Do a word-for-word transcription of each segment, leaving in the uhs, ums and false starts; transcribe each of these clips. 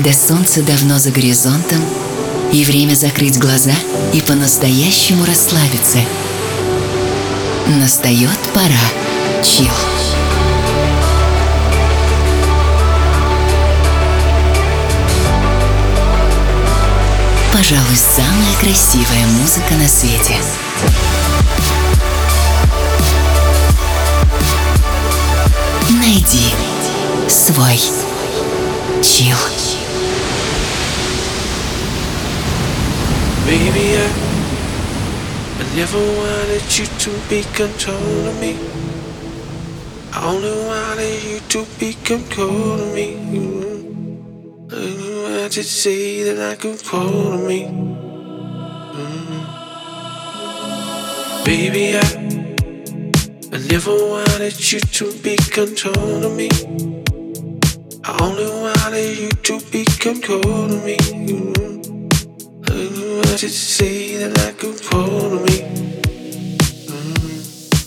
когда солнце давно за горизонтом, и время закрыть глаза и по-настоящему расслабиться. Настает пора чил. Пожалуй, самая красивая музыка на свете. Найди свой чил. Baby, I, I never wanted you to be controlling me. I only wanted you to be controlling me. Mm-hmm. I just say that I control me. Mm-hmm. Baby, I, I never wanted you to be controlling me. I only wanted you to be controlling me. Mm-hmm. I just say that I control me. Mm.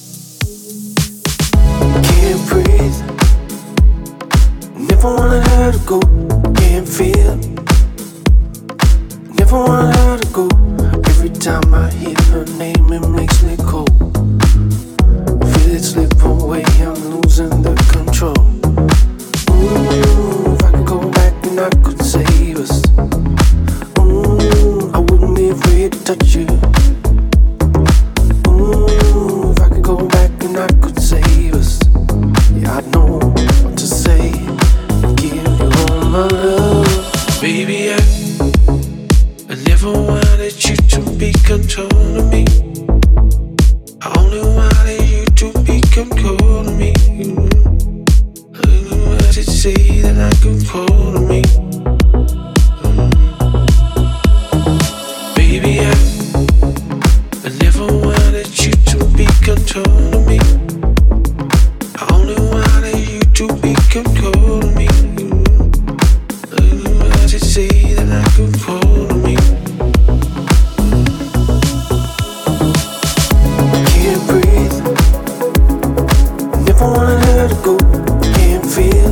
Can't breathe. Never wanted her to go. Can't feel. Never wanted her to go. Every time I hear her name, it makes me cold. Feel it slip away. I'm losing the control. Ooh, if I could go back and I could save us. Afraid to touch you. Ooh, if I could go back and I could save us. Yeah, I'd know what to say. Give you all my love. Baby, I, I never wanted you to be controlling me. I only wanted you to be controlling me. Mm-hmm. I just say that I control me. Baby, I, I never wanted you to be controlling me. I only wanted you to be controlling me. Mm-hmm. I just say that I control me. Can't breathe. Never wanted her to go. Can't feel.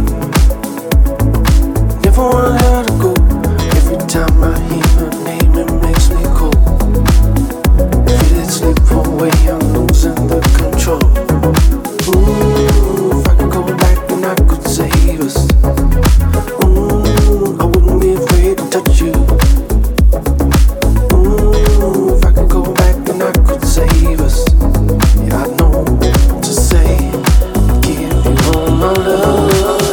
Never wanted her to go. Every time I hear her name, it makes me cold. Feel it slip away, I'm losing the control. Ooh, if I could go back and I could save us. Ooh, I wouldn't be afraid to touch you. Ooh, if I could go back and I could save us. Yeah, I know what to say. Give you all my love.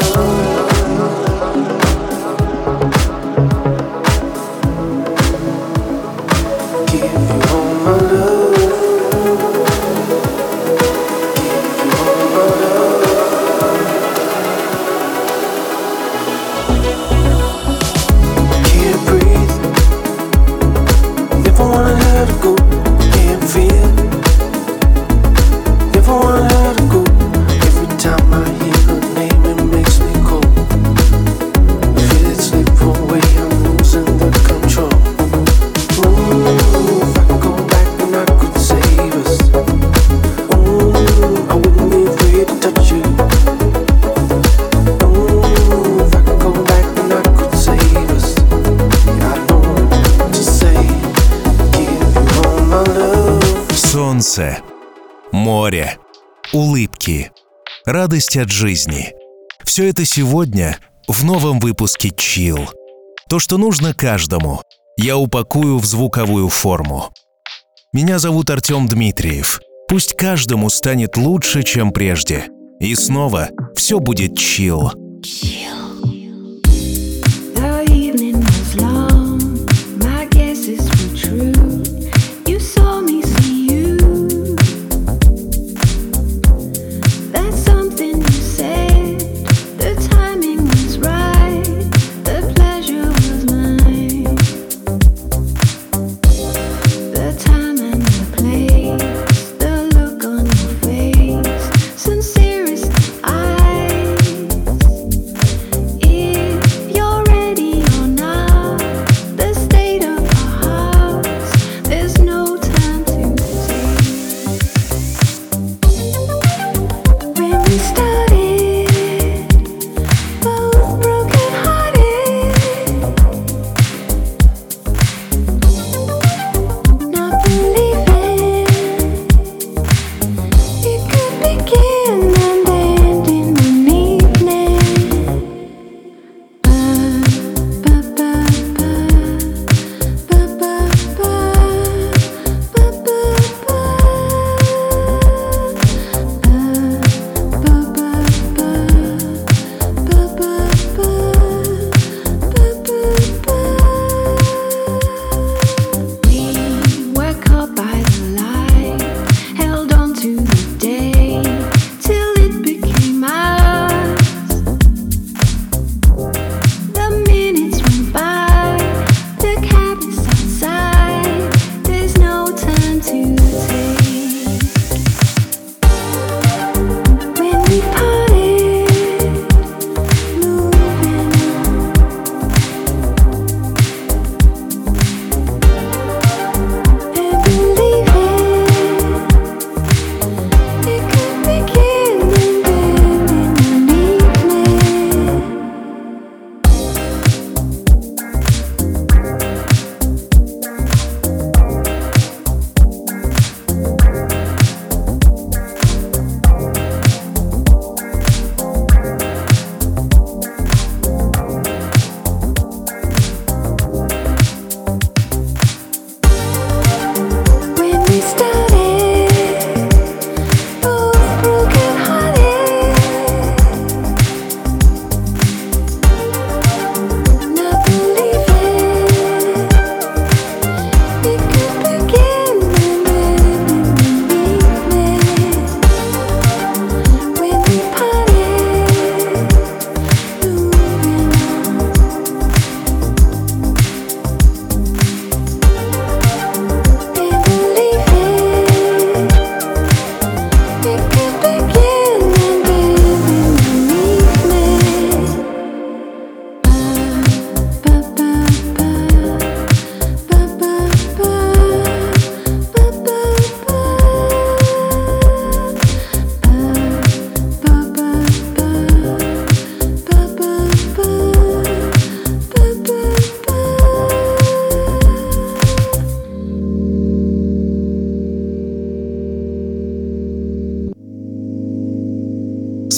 Солнце, море, улыбки, радость от жизни. Все это сегодня в новом выпуске Chill. То, что нужно каждому, я упакую в звуковую форму. Меня зовут Артем Дмитриев. Пусть каждому станет лучше, чем прежде. И снова все будет Chill. Sincerest eyes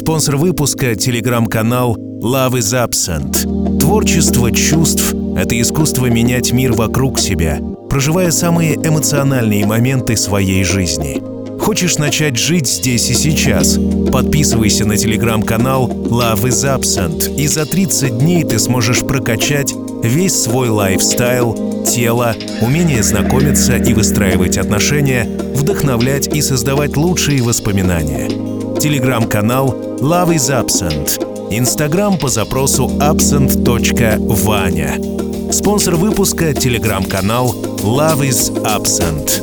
Спонсор выпуска — телеграм-канал Love is Absent. Творчество чувств — это искусство менять мир вокруг себя, проживая самые эмоциональные моменты своей жизни. Хочешь начать жить здесь и сейчас? Подписывайся на телеграм-канал Love is Absent, и за тридцать дней ты сможешь прокачать весь свой лайфстайл, тело, умение знакомиться и выстраивать отношения, вдохновлять и создавать лучшие воспоминания. Телеграм-канал Love is Absent. Инстаграм по запросу absent точка ваня. Спонсор выпуска — телеграм-канал Love is Absent.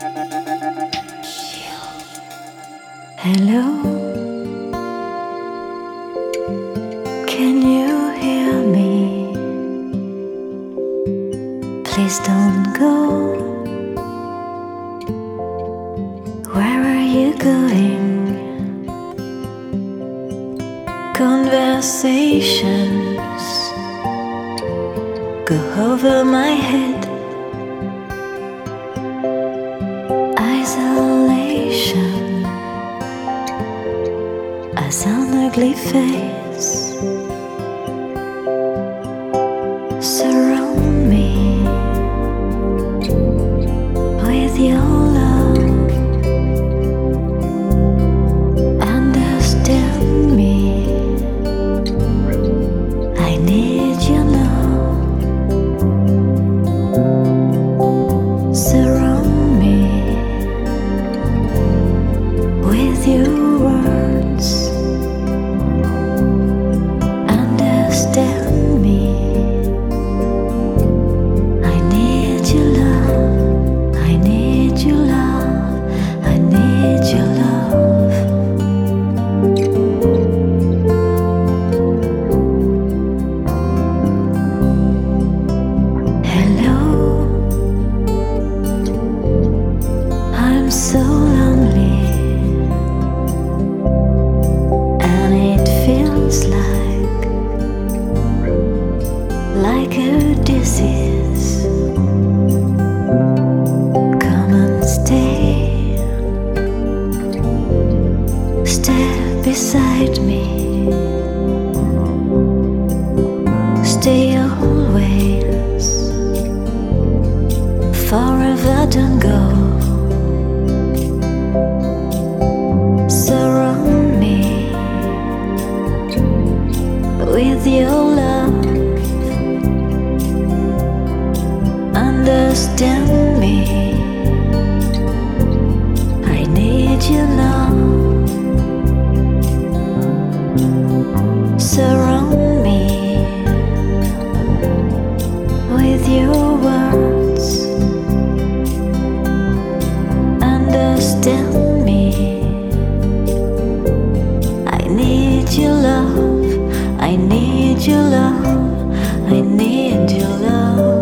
Hello, can you hear me? Please don't go. Where are you going? Conversations go over my head. Isolation as an ugly face. Surround me with your love. Understand me. I need you now. Surround me with your words. Understand me. I need your love. I need your love. I need your love. Hello, I'm so lonely, and it feels like like a disease. Come and stay, stay beside me, stay always, forever don't go. Surround me with your love. Understand me. I need you now. Surround me with your words. Understand me. I need your love. I need your love. I need your love.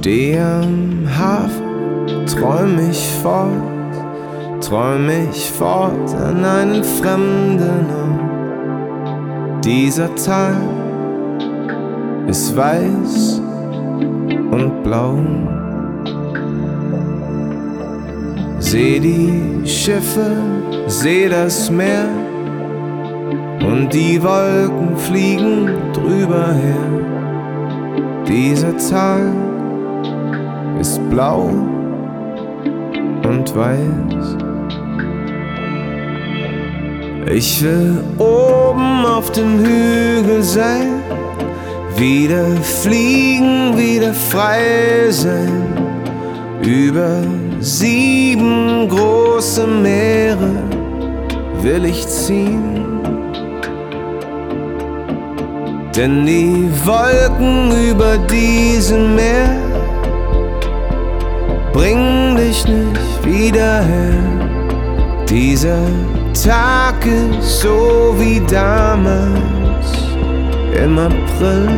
Steh am Hafen, träum ich fort, träum ich fort an einen fremden Ort. Dieser Tag ist weiß und blau. Seh die Schiffe, seh das Meer und die Wolken fliegen drüber her. Dieser Tag ist blau und weiß. Ich will oben auf dem Hügel sein, wieder fliegen, wieder frei sein, über sieben große Meere will ich ziehen. Denn die Wolken über diesem Meer bringen dich nicht wieder her. Dieser Tag ist so wie damals im April.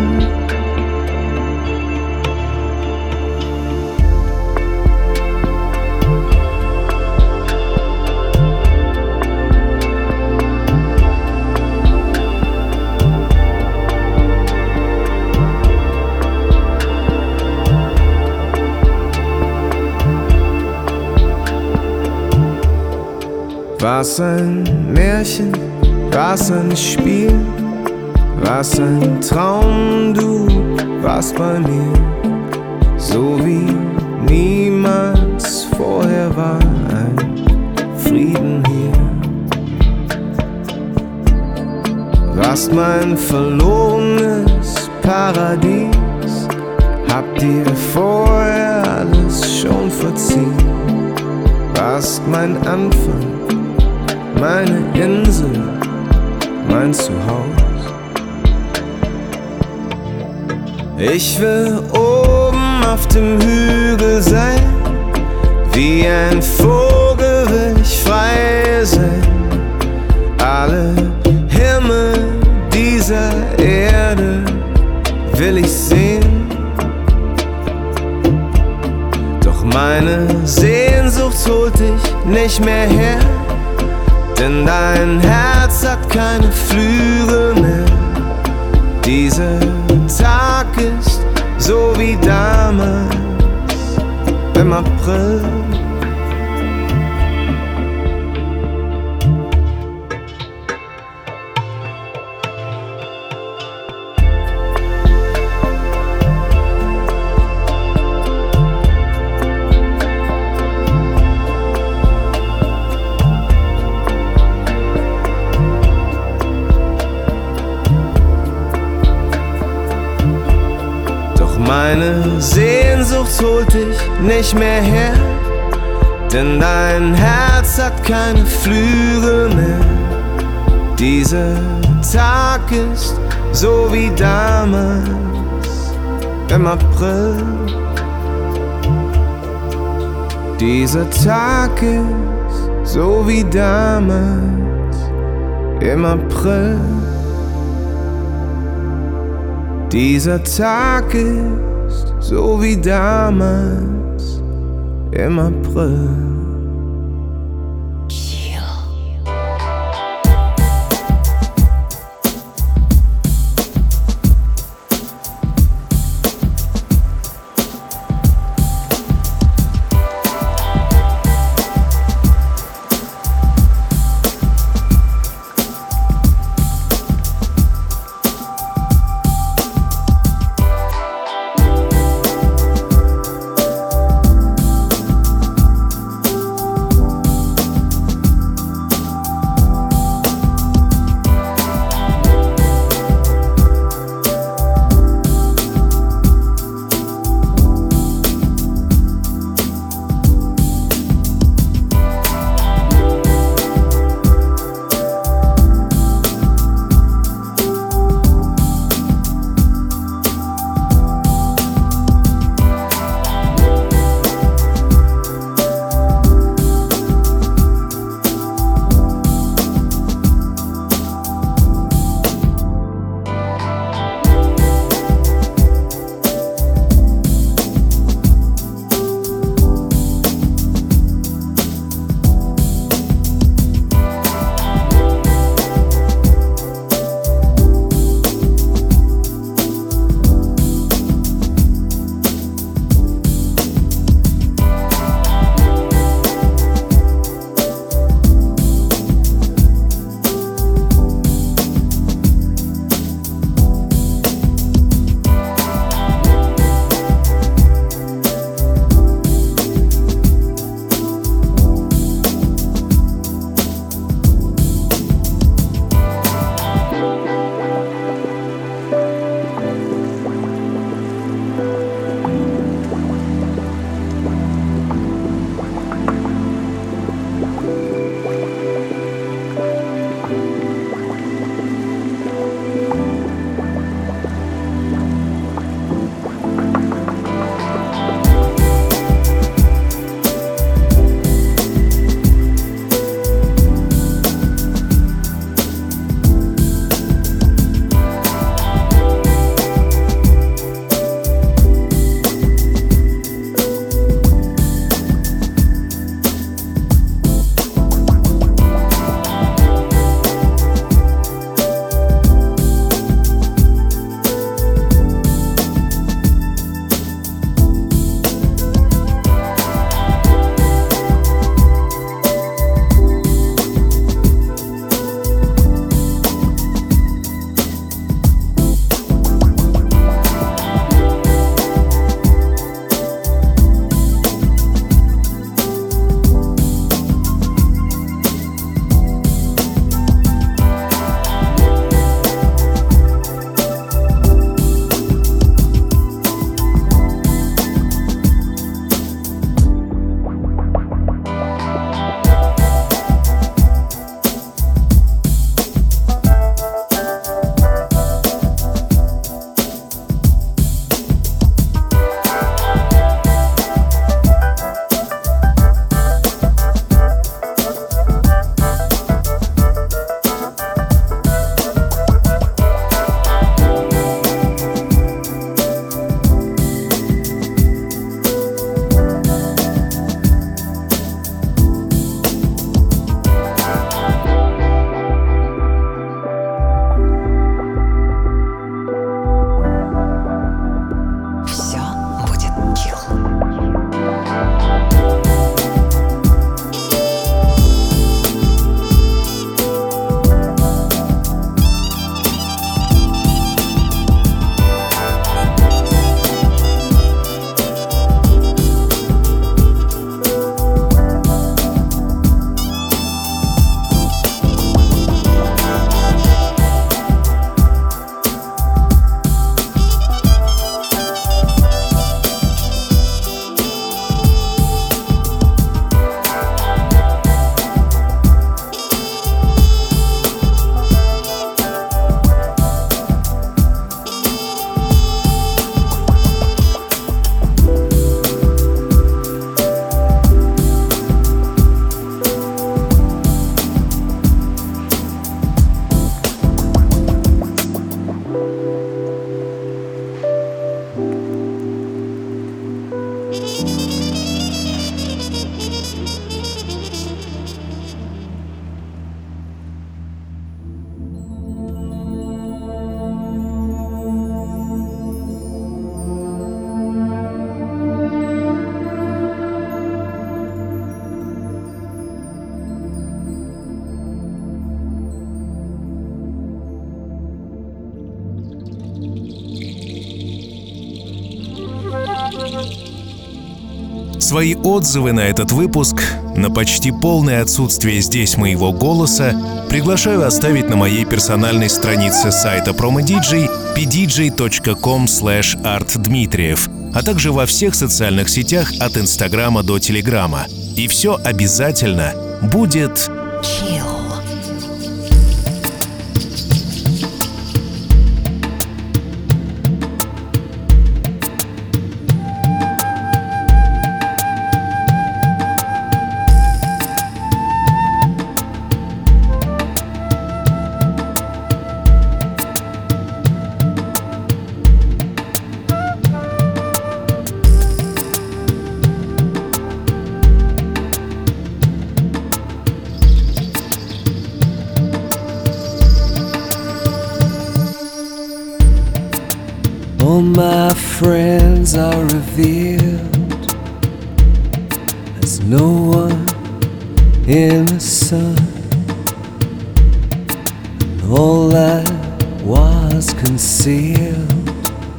War's ein Märchen, war's ein Spiel, war's ein Traum, du warst bei mir, so wie niemals vorher war ein Frieden hier. Warst mein verlorenes Paradies, hab dir vorher alles schon verziehen. Warst mein Anfang, meine Insel, mein Zuhause. Ich will oben auf dem Hügel sein, wie ein Vogel will ich frei sein. Alle Himmel dieser Erde will ich sehen. Doch meine Sehnsucht holt dich nicht mehr her, denn dein Herz hat keine Flügel mehr. Dieser Tag ist so wie damals im April. Meine Sehnsucht holt dich nicht mehr her, denn dein Herz hat keine Flügel mehr. Dieser Tag ist so wie damals im April. Dieser Tag ist so wie damals im April. Dieser Tag ist so wie damals im April. Свои отзывы на этот выпуск, на почти полное отсутствие здесь моего голоса, приглашаю оставить на моей персональной странице сайта промо-диджей пи ди джей точка ком слэш арт дмитриев, а также во всех социальных сетях от Инстаграма до Телеграма. И все обязательно будет Chill. All my friends are revealed as no one in the sun, and all that was concealed,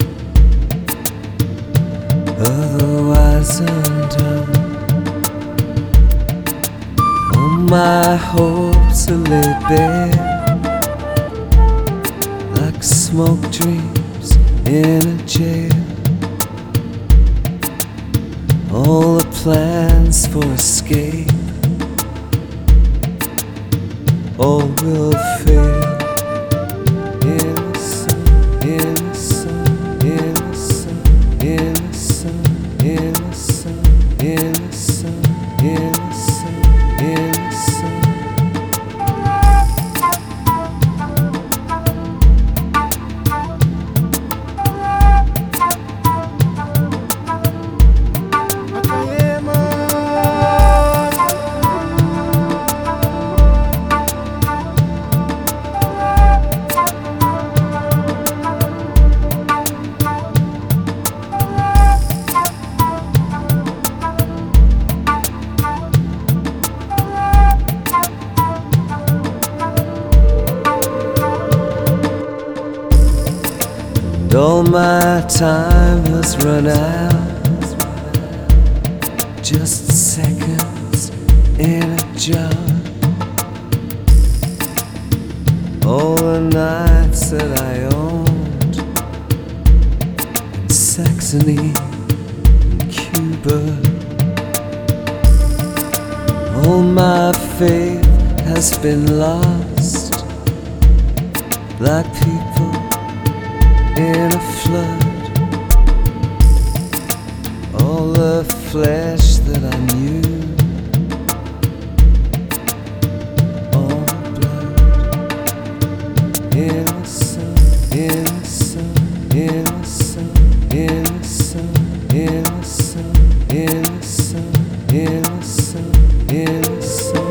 otherwise undone. All my hopes are laid bare like smoke dreams in a jail. All the plans for escape, all will fail. In the sun, in the sun, in the sun, in the sun, in the sun, in the sun, in the sun, in the sun. And all my time has run out, just seconds in a jar. All the nights that I owned in Saxony and Cuba, all my faith has been lost, like people in a flood. All the flesh that I knew, all blood. In the sun, in the sun, in the sun, in the sun, in the sun, in the sun, in the sun, in the sun.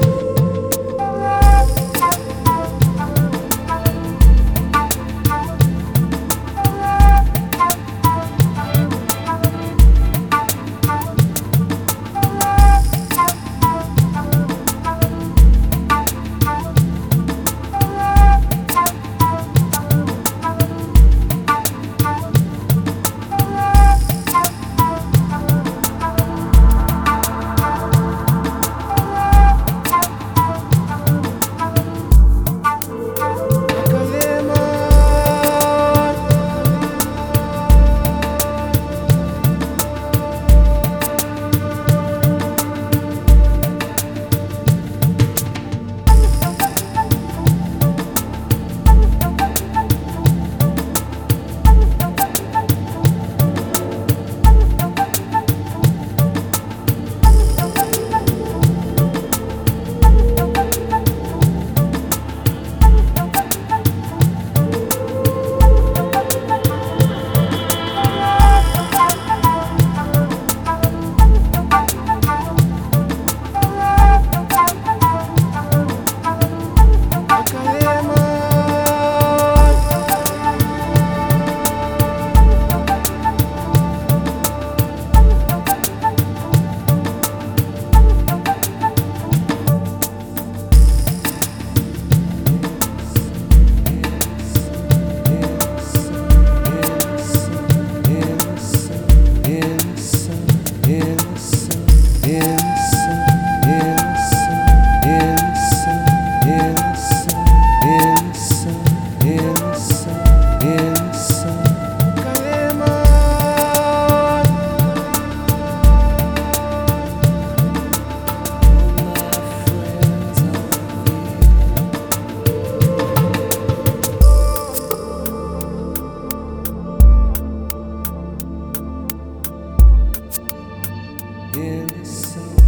innocent.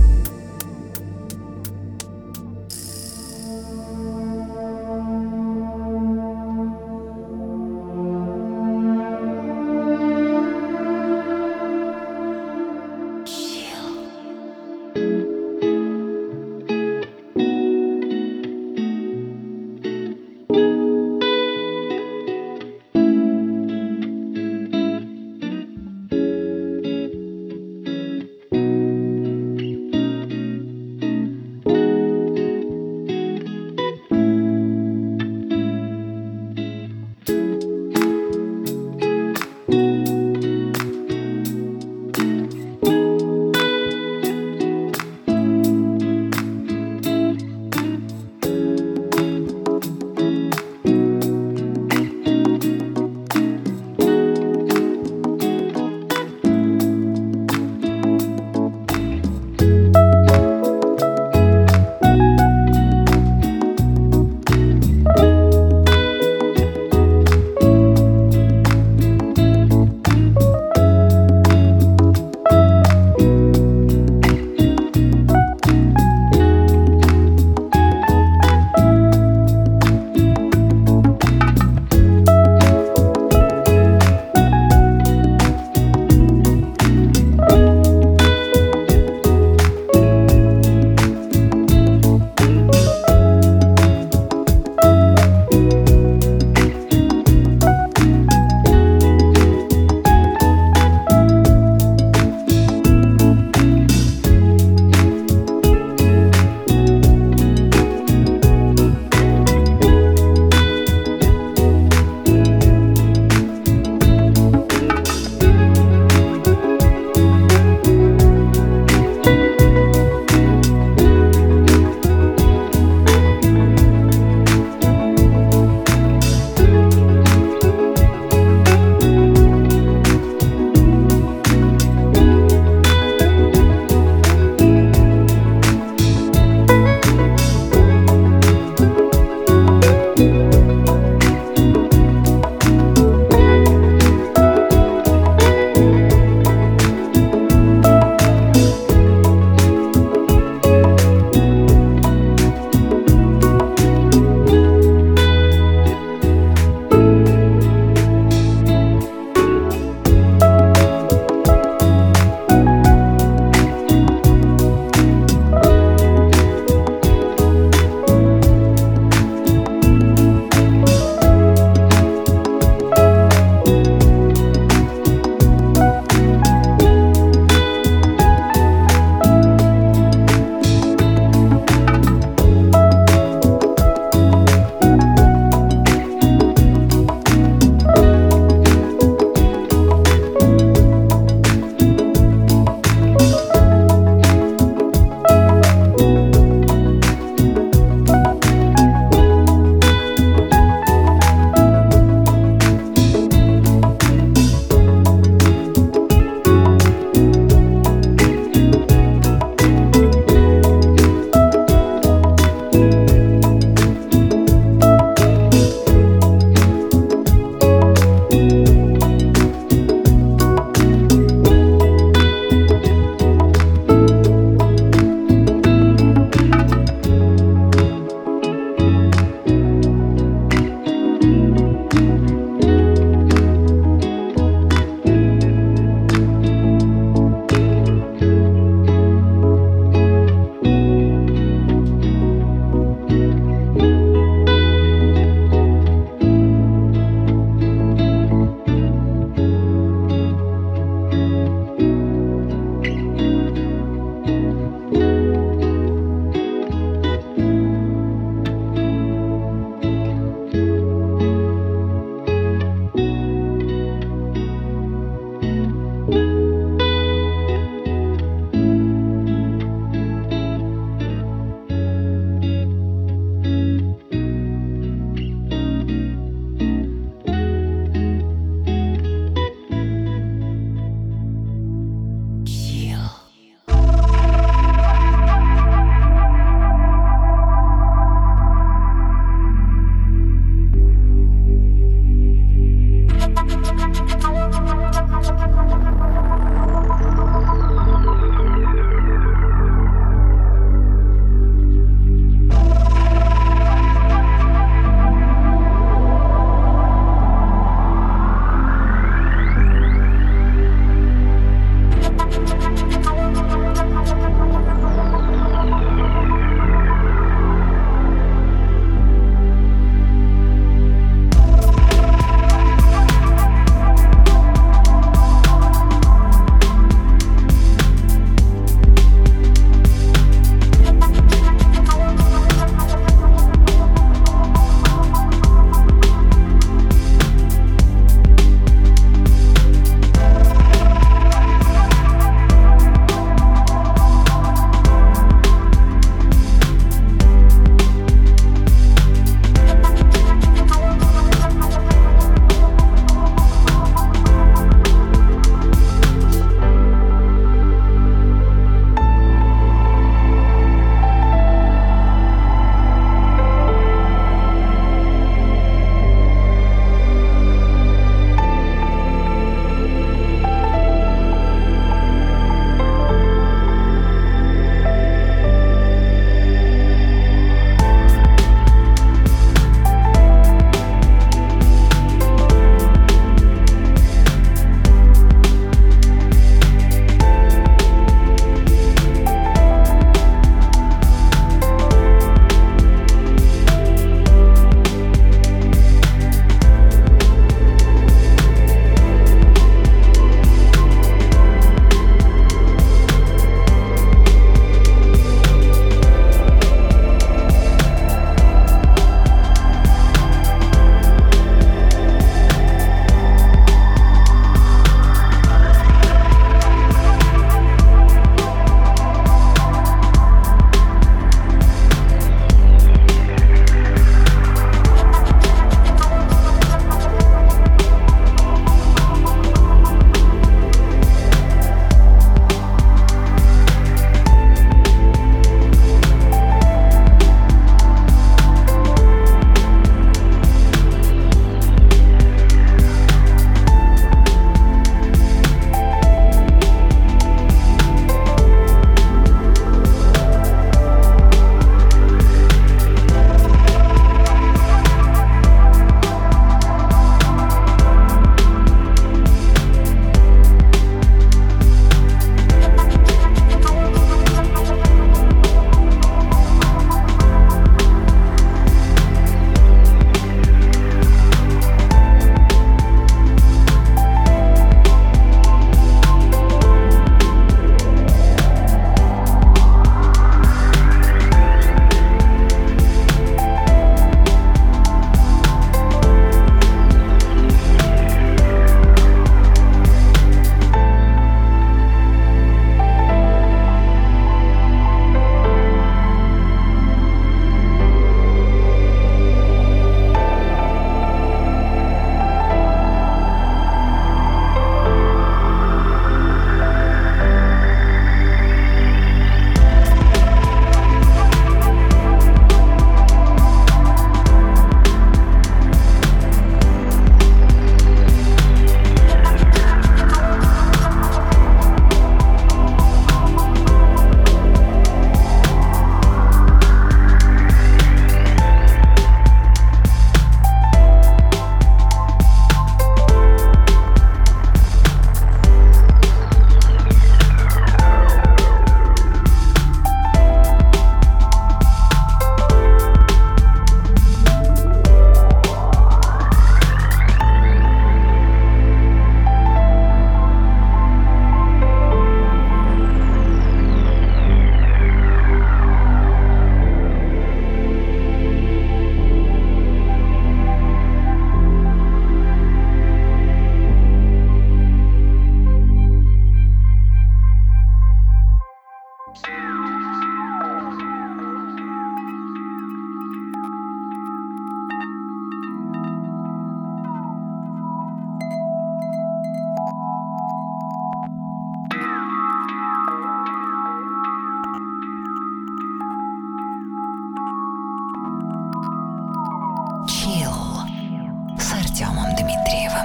Chill с Артемом Дмитриевым.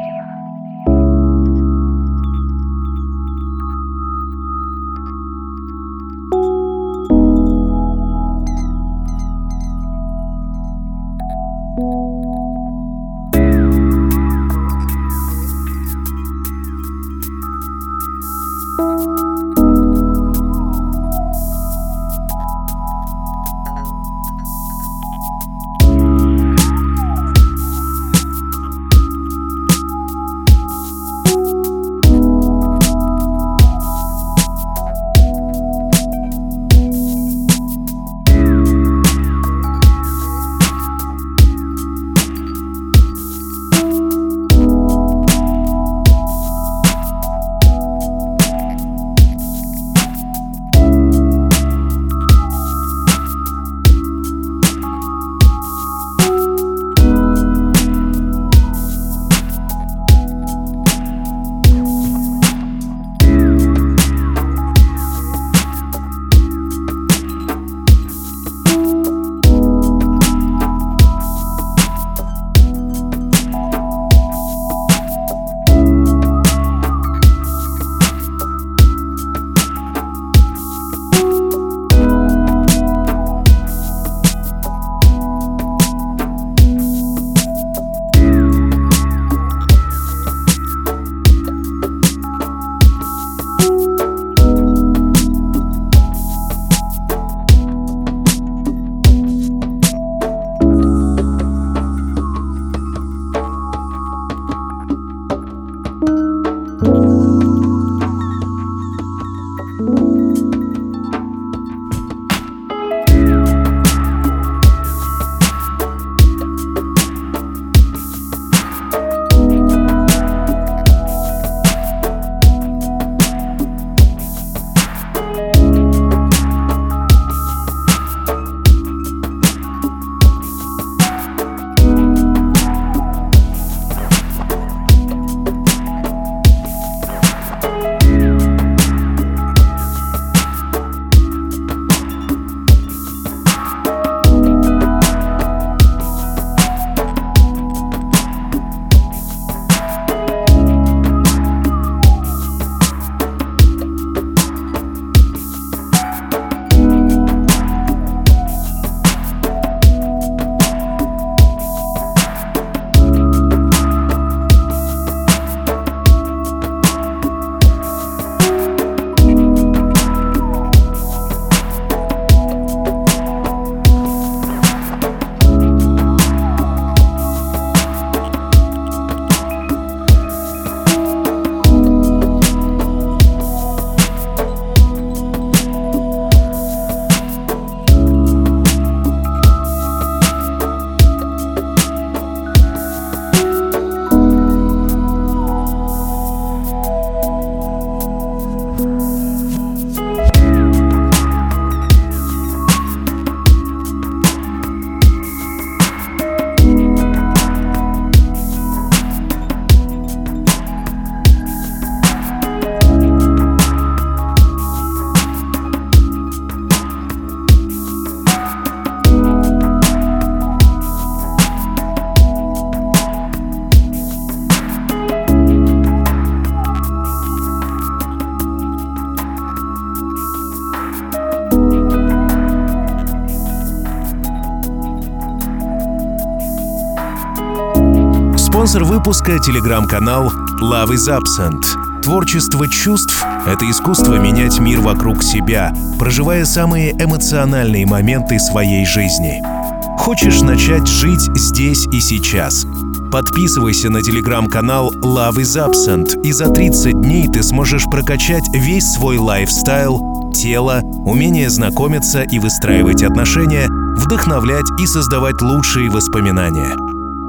Спонсор выпуска — телеграм-канал Love is Absent. Творчество чувств — это искусство менять мир вокруг себя, проживая самые эмоциональные моменты своей жизни. Хочешь начать жить здесь и сейчас? Подписывайся на телеграм-канал Love is Absent, и за тридцать дней ты сможешь прокачать весь свой лайфстайл, тело, умение знакомиться и выстраивать отношения, вдохновлять и создавать лучшие воспоминания.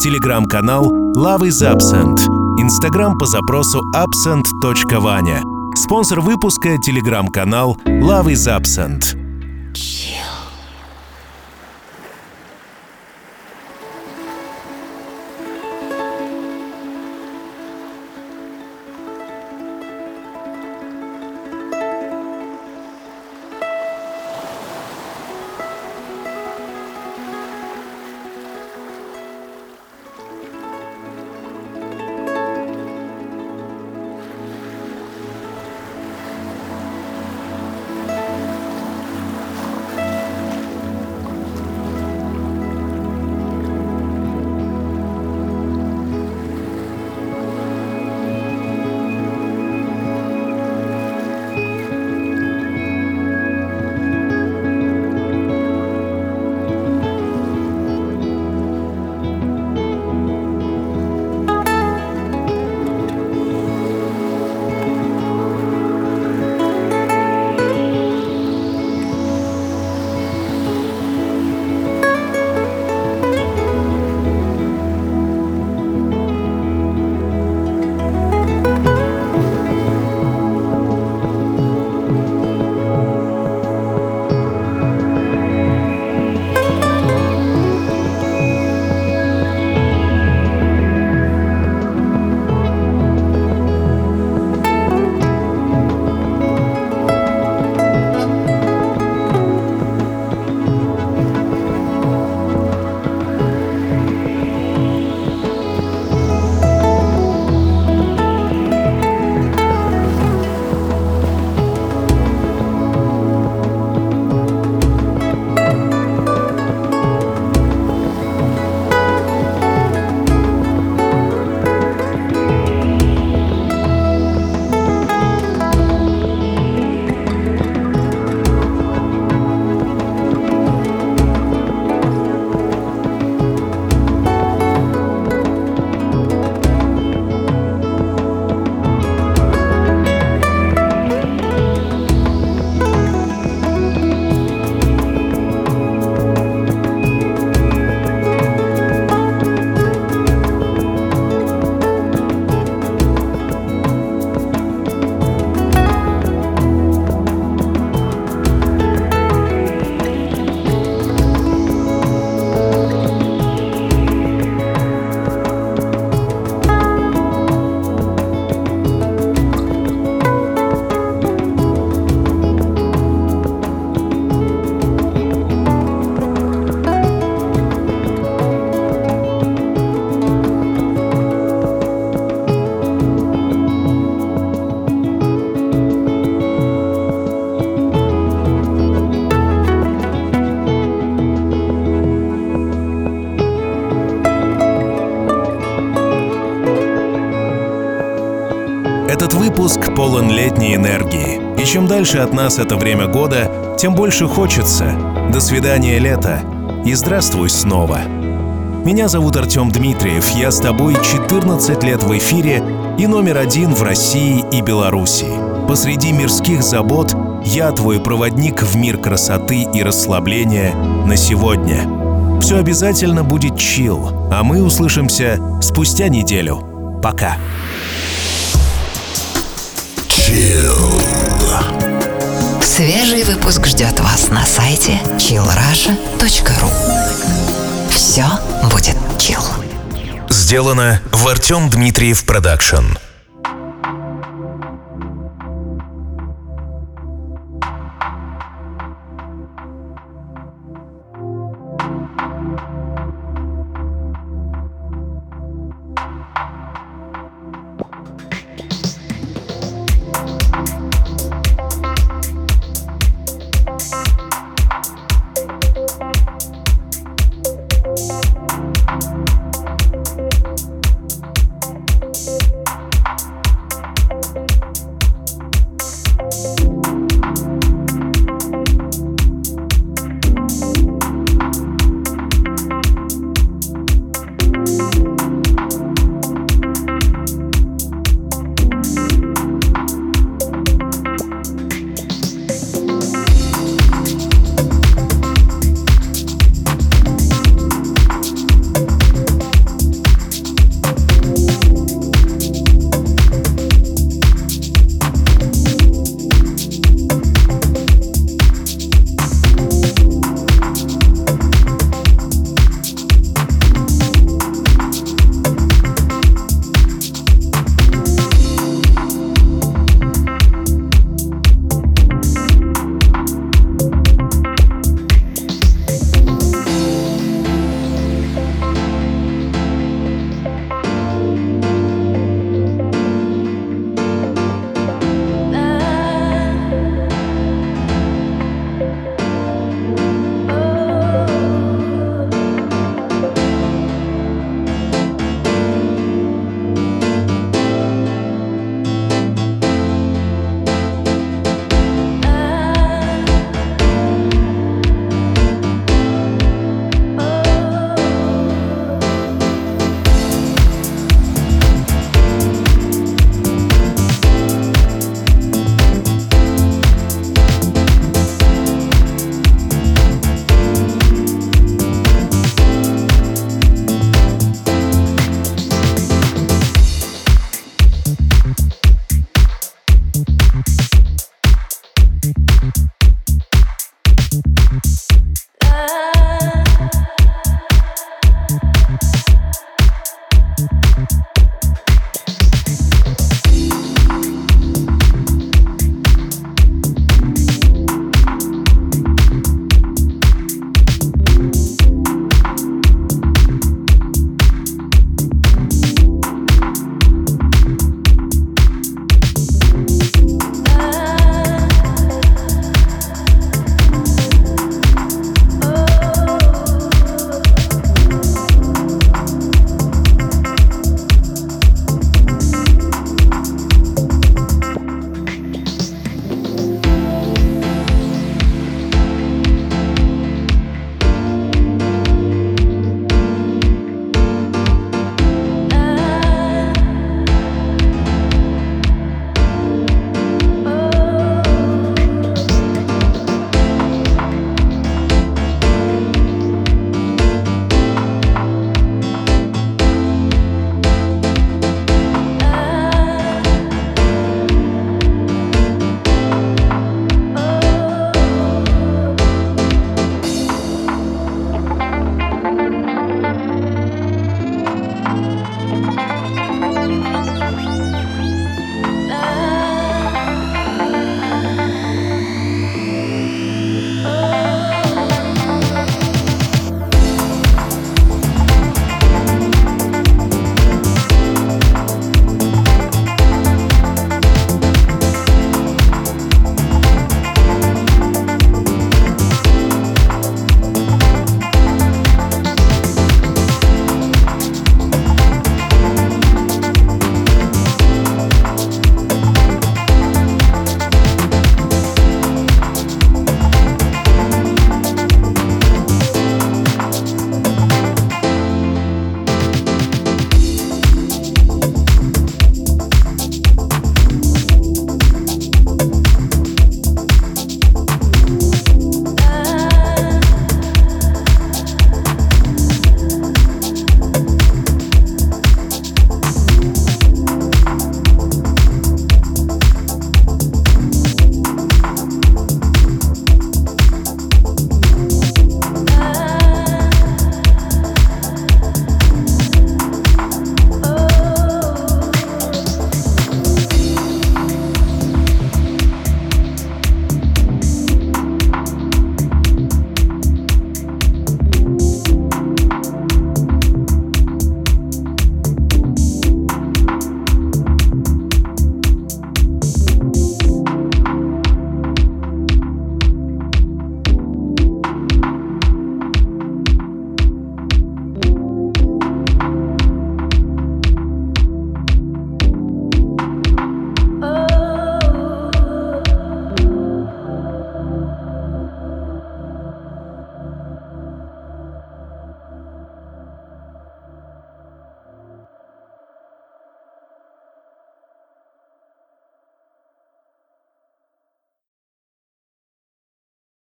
Телеграм-канал Love is Absent. Инстаграм по запросу absent точка vanya. Спонсор выпуска — телеграм-канал Love is Absent. Этот выпуск полон летней энергии. И чем дальше от нас это время года, тем больше хочется. До свидания, лето. И здравствуй снова. Меня зовут Артем Дмитриев. Я с тобой четырнадцать лет в эфире и номер один в России и Беларуси. Посреди мирских забот я твой проводник в мир красоты и расслабления на сегодня. Все обязательно будет чилл, а мы услышимся спустя неделю. Пока. Свежий выпуск ждет вас на сайте чилл раша точка ру. Все будет чилл. Сделано в Артем Дмитриев Продакшн. love.